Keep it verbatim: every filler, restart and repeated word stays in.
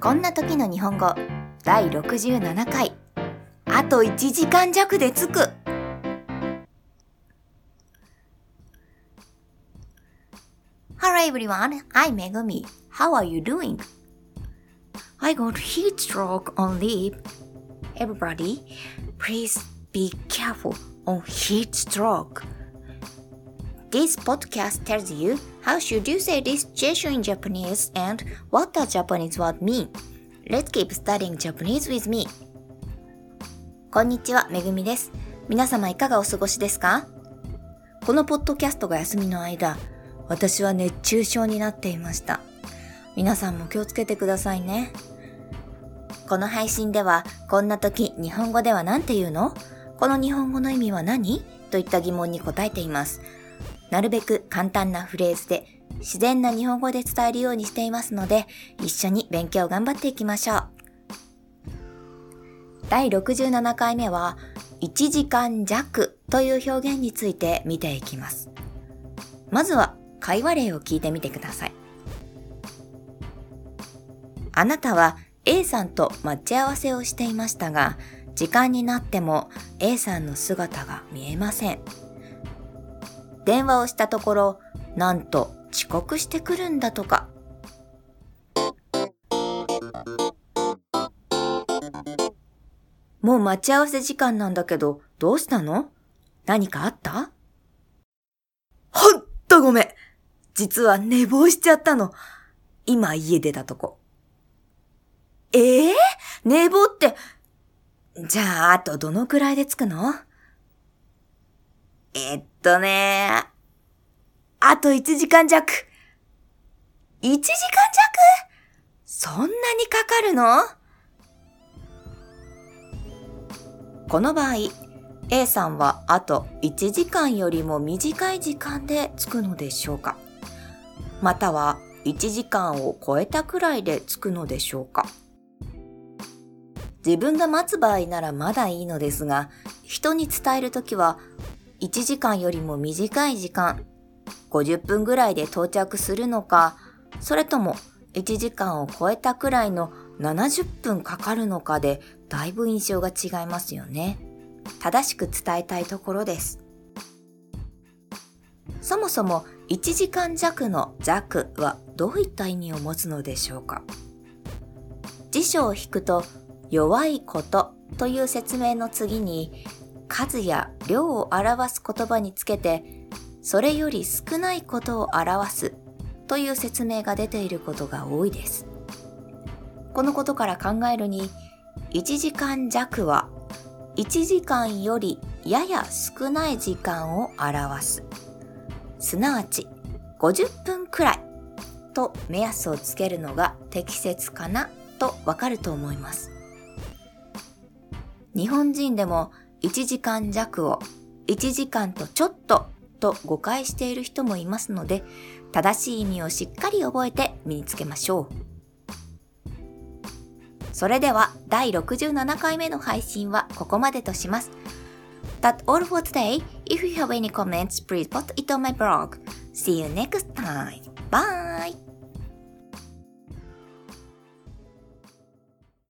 こんな時の日本語だいろくじゅうななかい。あといちじかんじゃくで着く。Hello everyone, I'm Megumi. How are you doing? I got heat stroke on leave. Everybody, please be careful on heat stroke. This podcast tells you how should you say this situation in Japanese and what does Japanese word mean. Let's keep studying Japanese with me. こんにちは、めぐみです。皆様いかがお過ごしですか？このポッドキャストが休みの間、私は熱中症になっていました。皆さんも気をつけてくださいね。この配信では、こんな時日本語では何て言うの？この日本語の意味は何？といった疑問に答えています。なるべく簡単なフレーズで自然な日本語で伝えるようにしていますので、一緒に勉強頑張っていきましょう。だいろくじゅうななかいめはいちじかんじゃくという表現について見ていきます。まずは会話例を聞いてみてください。あなたは A さんと待ち合わせをしていましたが、時間になっても A さんの姿が見えません。電話をしたところ、なんと遅刻してくるんだとか。もう待ち合わせ時間なんだけど、どうしたの？何かあった？ほんとごめん。実は寝坊しちゃったの。今家出たとこ。えー、寝坊って、じゃああとどのくらいで着くの？えっとね、あといちじかんじゃく。いちじかんじゃく？そんなにかかるの？この場合、A さんはあといちじかんよりも短い時間で着くのでしょうか？またはいちじかんを超えたくらいで着くのでしょうか？自分が待つ場合ならまだいいのですが、人に伝えるときはいちじかんよりも短い時間、ごじゅっぷんぐらいで到着するのか、それともいちじかんを超えたくらいのななじゅっぷんかかるのかでだいぶ印象が違いますよね。正しく伝えたいところです。そもそもいちじかんじゃくの弱はどういった意味を持つのでしょうか？辞書を引くと弱いことという説明の次に数や量を表す言葉につけてそれより少ないことを表すという説明が出ていることが多いです。このことから考えるにいちじかんじゃくはいちじかんよりやや少ない時間を表す。すなわちごじゅっぷんくらいと目安をつけるのが適切かなとわかると思います。日本人でもいちじかんじゃくをいちじかんとちょっとと誤解している人もいますので、正しい意味をしっかり覚えて身につけましょう。それではだいろくじゅうななかいめの配信はここまでとします。That's all for today. If you have any comments, please put it on my blog. See you next time. Bye!